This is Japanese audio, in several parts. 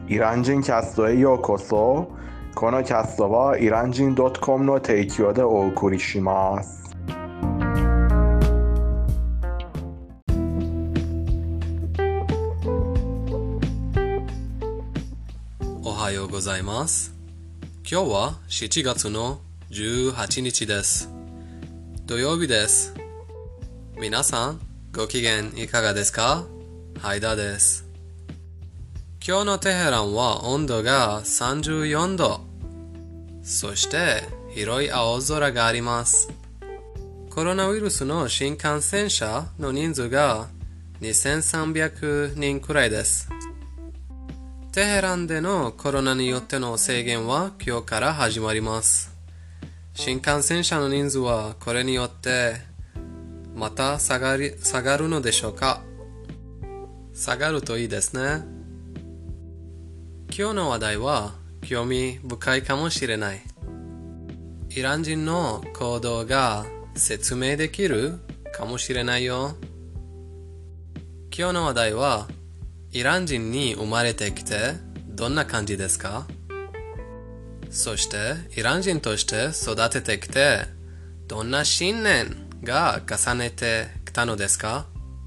イラン人キャストへようこそ。このキャストはイラン人 .com の提供でお送りします。 おはようございます。今日は7月の18日です。土曜日です。皆さんご機嫌いかがですか？ハイダです。今日のテヘランは温度が34度。そして広い青空があります。コロナウイルスの新感染者の人数が2300人くらいです。テヘランでのコロナによっての制限は今日から始まります。新感染者の人数はこれによってまた下がるのでしょうか？下がるといいですね。今日の話題は興味深いかもしれない。イラン人の行動が説明できるかもしれないよ。今日の話題はイラン人に生まれてきてどんな感じですか？そしてイラン人として育ててきてどんな信念が重ねてきたのですか？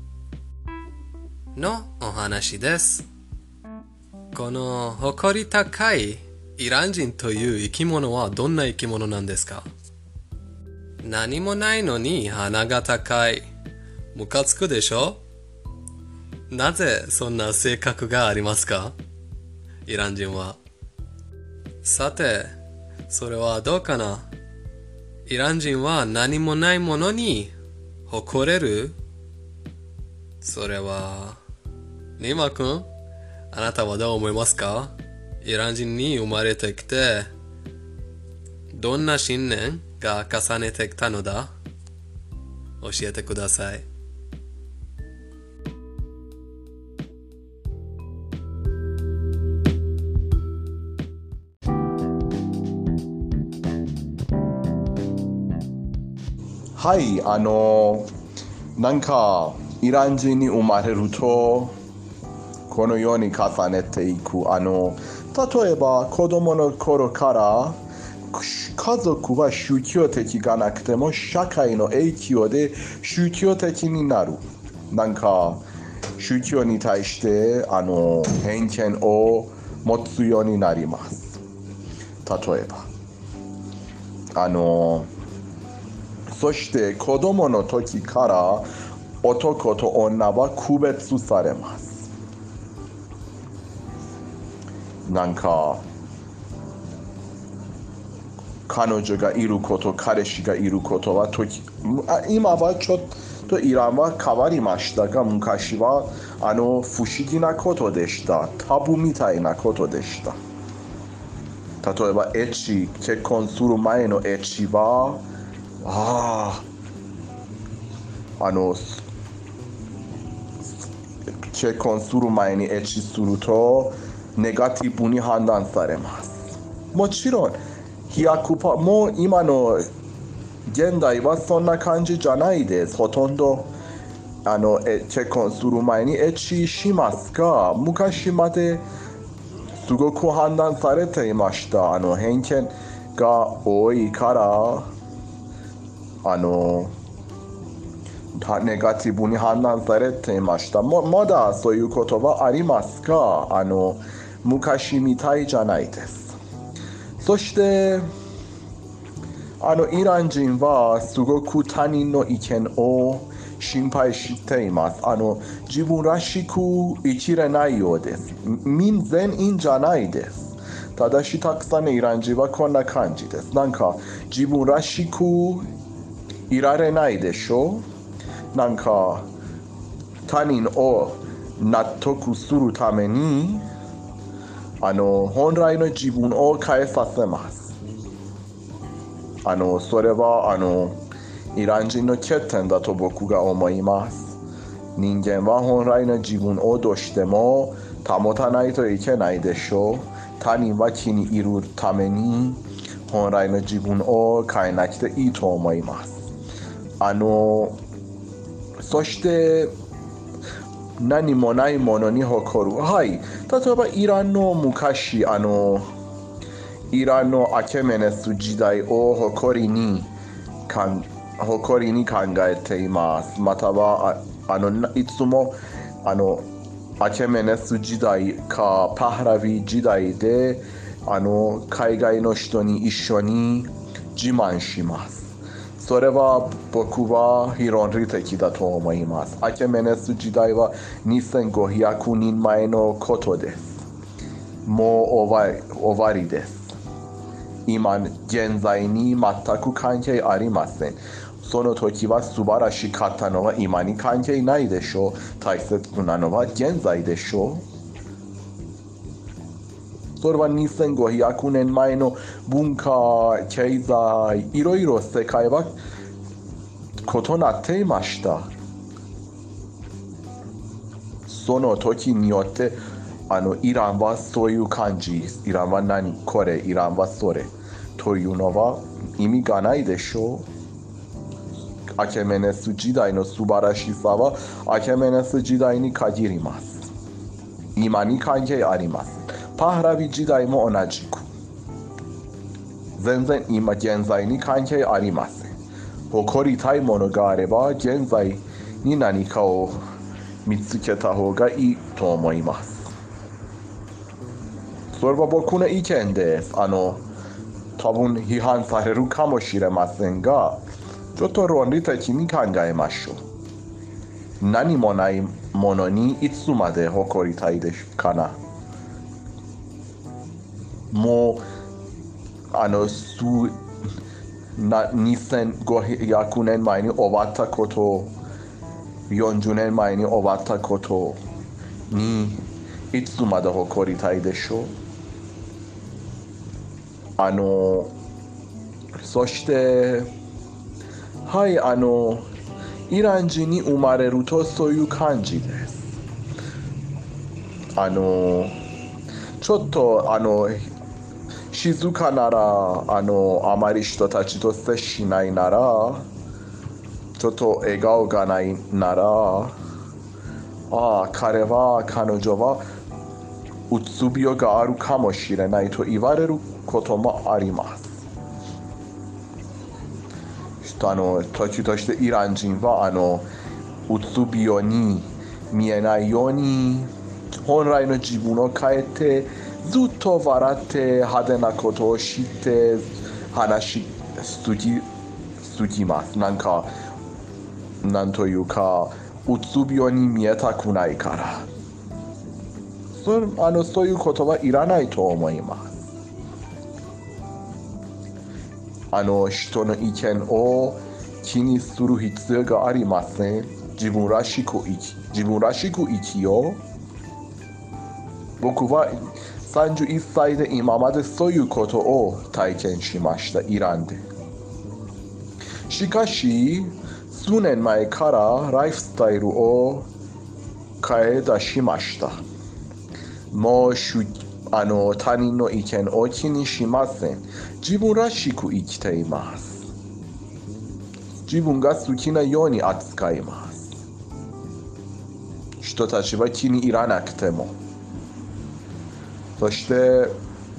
のお話です。この誇り高いイラン人という生き物はどんな生き物なんですか？何もないのに鼻が高い。ムカつくでしょ？なぜそんな性格がありますか？イラン人は。さて、それはどうかな？イラン人は何もないものに誇れる？それは、ニマ君、あなたはどう思いますか？イラン人に生まれてきて、どんな信念が重ねてきたのだ？教えてください。 はい、なんかイラン人に生まれるとこのように重ねていく。例えば子供の頃から家族は宗教的がなくても社会の影響で宗教的になる。なんか宗教に対して偏見を持つようになります。例えばそして子供の時から男と女は区別されます。なんか彼女がいること、彼氏がいることは今はちょっとイランは変わりましたが、昔は不思議なことでした。タブーみたいなことでした。例えば結婚する前のエッチは結婚する前にエッチするとネガティブに判断されます。もちろんもう今の現代はそんな感じじゃないです。ほとんど結婚する前にエッチしますが、昔まですごく判断されていました。偏見が多いからネガティブに判断されていました。まだそういうことはありますが、昔みたいじゃないです。そしてイラン人はすごく他人の意見を心配しています。自分らしく生きれないようです。全員じゃないです。ただしたくさんのイラン人はこんな感じです。なんか自分らしくいられないでしょ？なんか他人を納得するために本来の自分を変えさせます。それはイラン人の欠点だと僕が思います。人間は本来の自分をどうしても保たないといけないでしょう。他人は気に入るために本来の自分を変えなくていいと思います。そして何もないものに誇る。はい。例えばイランの昔、イランのアケメネス時代を誇りに考えています。またはいつもアケメネス時代かパハラビ時代で海外の人に一緒に自慢します。それは僕は非論理的だと思います。アケメネス時代は2500年前のことです。もう終わりです。今現在に全く関係ありません。その時は素晴らしかったのは今に関係ないでしょう。大切なのは現在でしょう。それは2500年前の文化、経済、いろいろ世界は異なっていました。その時によってイランはそういう感じ、イランは何これ、イランはそれというのは意味がないでしょう。アケメネス時代の素晴らしさはアケメネス時代に限ります。今に関係あります。パハラビ時代も同じく。全然今現在に関係ありません。誇りたいものがあれば現在に何かを見つけた方がいいと思います。それは僕の意見です。多分批判されるかもしれませんが、ちょっと論理的に考えましょう。何もないものにいつまで誇りたいですかな。もう2500年前に終わったこと、40年前に終わったことにいつまで誇りたいでしょう。そしてはいイラン人に生まれるとそういう感じです。ちょっと静かならあまり人たちと接しないなら、ちょっと笑顔がないなら、彼女はうつ病があるかもしれないと言われることもあります。時としてイラン人はうつ病に見えないように本来の自分を変えてずっと笑って派手なことをして話しすぎます。なんというかうつ病に見えたくないから、そういうことはいらないと思います。人の意見を気にする必要がありません。自分らしく生きよう。僕は31歳で今までそういうことを体験しました、イランで。しかし数年前からライフスタイルを変え出しました。もう他人の意見を気にしません。自分らしく生きています。自分が好きなように扱います。人たちは気に入らなくても。そして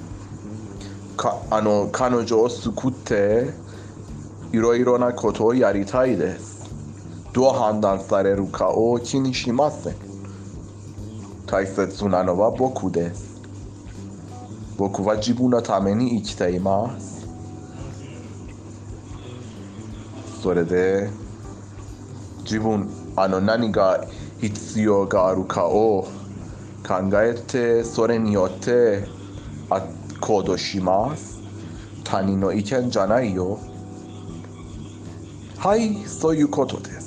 彼女を救っていろいろなことをやりたいです。どう判断されるかを気にしません。大切なのは僕です。僕は自分のために生きています。それで何が必要があるかを考えて、それによって行動します。他人の意見じゃないよ。はい、そういうことです。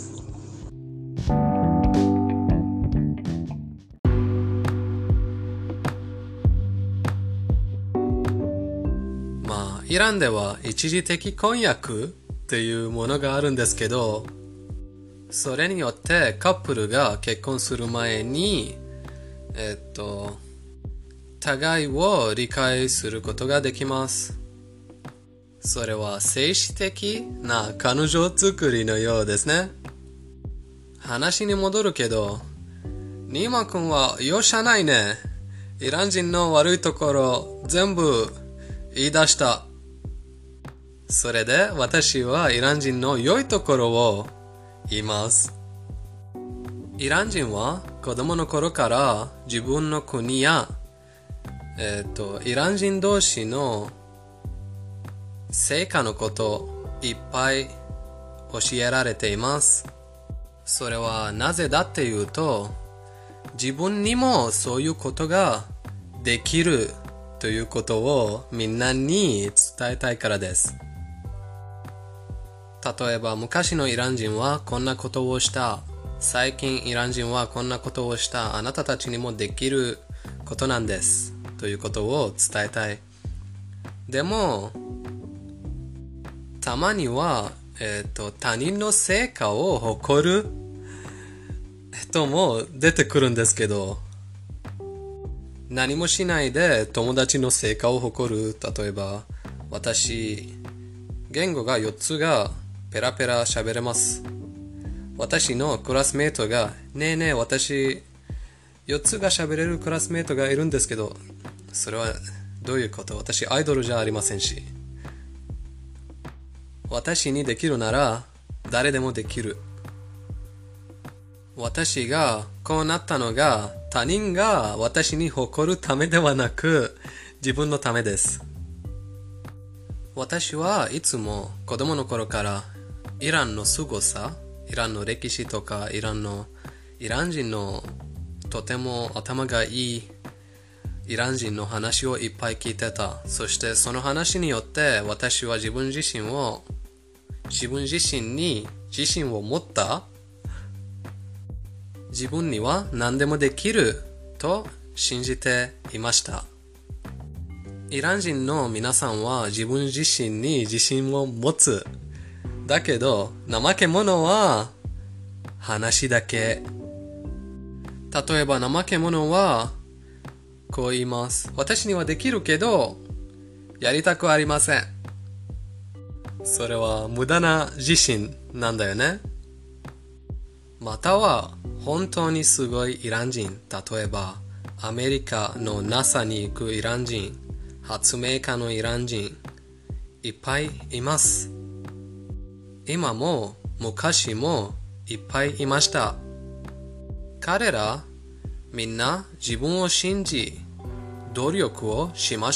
イランでは一時的婚約っていうものがあるんですけど、それによってカップルが結婚する前に互いを理解することができます。それは政治的な彼女作りのようですね。話に戻るけど、 ニーマ君は容赦ないね。イラン人の悪いところ全部言い出した。それで私はイラン人の良いところを言います。イラン人は子供の頃から自分の国や、イラン人同士の成果のこといっぱい教えられています。それはなぜだっていうと、自分にもそういうことができるということをみんなに伝えたいからです。例えば昔のイラン人はこんなことをした。最近イラン人はこんなことをした。あなたたちにもできることなんです。ということを伝えたい。でも、たまには、他人の成果を誇る人も出てくるんですけど、何もしないで友達の成果を誇る。例えば、私、言語が4つがペラペラ喋れます。私のクラスメートが、ねえねえ、私、4つが喋れるクラスメートがいるんですけど、それはどういうこと？私アイドルじゃありませんし。私にできるなら誰でもできる。私がこうなったのが他人が私に誇るためではなく自分のためです。私はいつも子供の頃からイランの凄さ、イランの歴史とかイラン人のとても頭がいいイラン人の話をいっぱい聞いてた。そしてその話によって私は自分自身に自信を持った。自分には何でもできると信じていました。イラン人の皆さんは自分自身に自信を持つ。だけど怠け者は話だけ。例えば怠け者はこう言います。私にはできるけどやりたくありません。それは無駄な自信なんだよね。または本当にすごいイラン人、例えばアメリカの NASA に行くイラン人、発明家のイラン人、いっぱいいます。今も昔もいっぱいいました。彼らみんな自分を信じ努力をしました。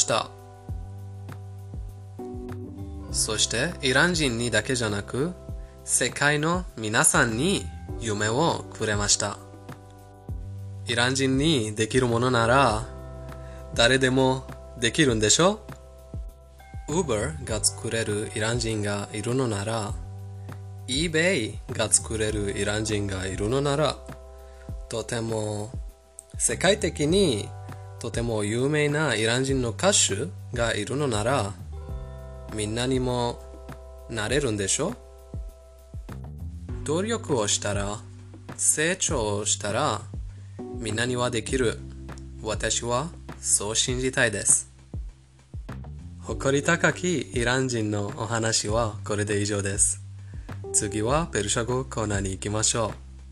そしてイラン人にだけじゃなく世界の皆さんに夢をくれました。イラン人にできるものなら誰でもできるんでしょ？ Uber が作れるイラン人がいるのなら eBay が作れるイラン人がいるのなら、とても世界的にとても有名なイラン人の歌手がいるのならみんなにもなれるんでしょ？努力をしたら成長したらみんなにはできる。私はそう信じたいです。誇り高きイラン人のお話はこれで以上です。次はペルシャ語コーナーに行きましょう。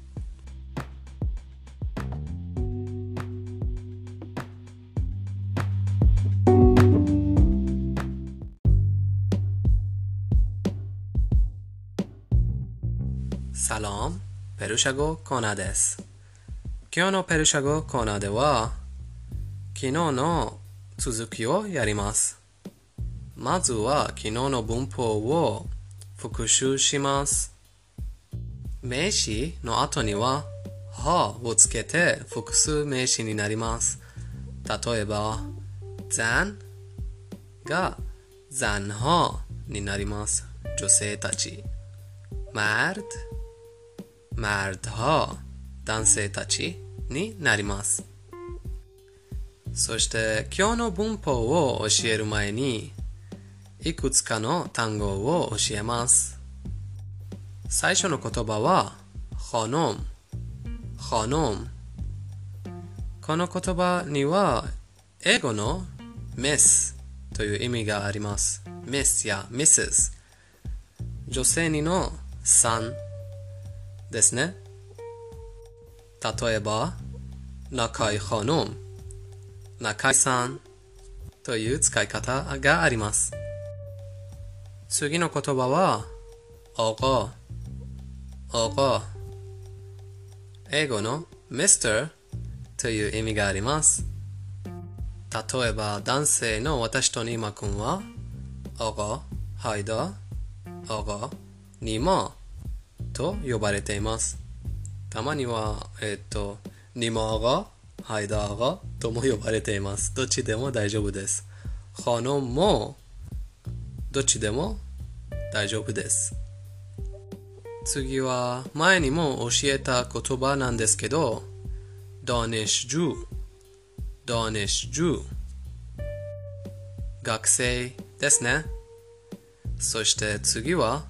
サロン、ペルシャ語コーナーです。今日のペルシャ語コーナーでは昨日の続きをやります。まずは昨日の文法を復習します。名詞の後にははをつけて複数名詞になります。例えばザンがザンハになります。女性たち。マルドは男性たちになります。そして今日の文法を教える前にいくつかの単語を教えます。最初の言葉はخانم。この言葉には英語の Miss という意味があります。Miss や Mrs。女性にのさんですね。例えば仲いいخانم、仲いいさんという使い方があります。次の言葉は、آقا、آقا。英語の Mr. という意味があります。例えば、男性の私とニーマ君は、آقا、ハイダ、آقا、ニーマと呼ばれています。たまには、ニーマآقا、ハイダآقاとも呼ばれています。どっちでも大丈夫です。خانمもどっちでも大丈夫です。次は前にも教えた言葉なんですけど、دانشجو、دانشجو、学生ですね。そして次は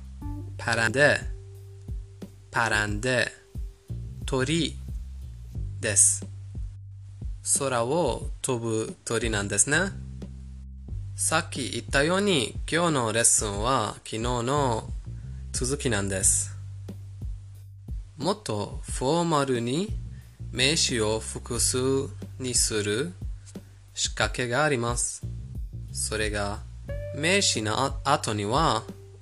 پرنده、پرنده、鳥です。空を飛ぶ鳥なんですね。さっき言ったように今日のレッスンは昨日の続きなんです。もっとフォーマルに名詞を複数にする仕掛けがあります。それが名詞の後には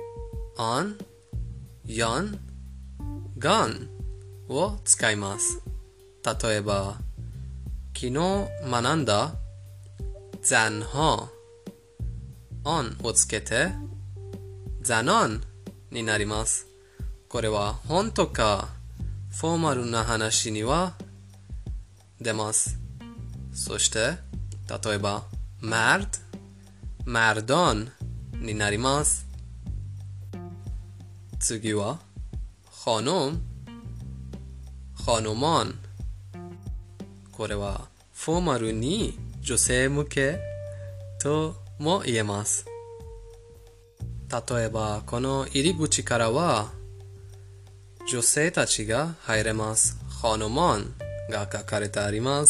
on、yon、gone を使います。例えば昨日学んだزنها on をつけてزنانになります。これは本とかフォーマルな話には出ます。そして例えばمرد、مردانになります。次はخانم、خانمان。これはフォーマルに女性向けとも言えます。例えばこの入り口からは女性たちが入れます。خانمانが書かれてあります。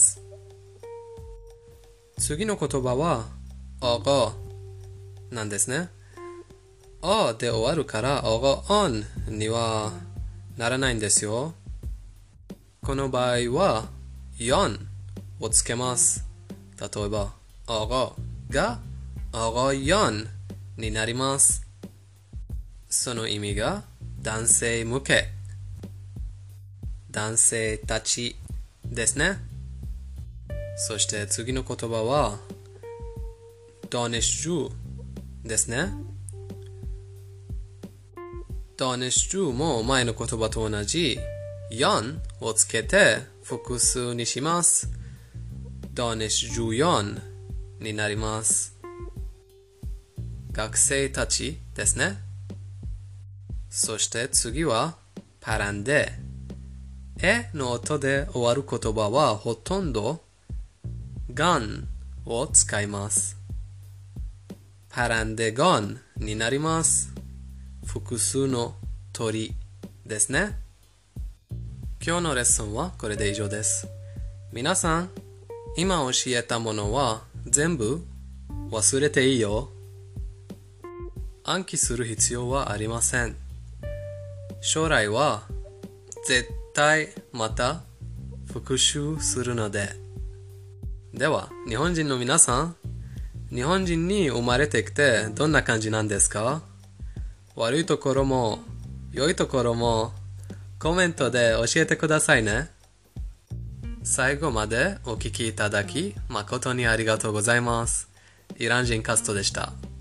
次の言葉はآقاなんですね。あで終わるからآقا onにはならないんですよ。この場合はyonをつけます。例えばآقاがآقایانになります。その意味が男性向け、男性たちですね。そして次の言葉はدانشجوですね。دانشجوも前の言葉と同じyonをつけて複数にします。دانشجویانになります。学生たちですね。そして次はپرنده。の音で終わる言葉はほとんどgoneを使います。پرندگانになります。複数の鳥ですね。今日のレッスンはこれで以上です。皆さん、今教えたものは全部忘れていいよ。暗記する必要はありません。将来は絶対また復習するので。では、日本人の皆さん、日本人に生まれてきてどんな感じなんですか？悪いところも良いところもコメントで教えてくださいね。最後までお聞きいただき誠にありがとうございます。イラン人カストでした。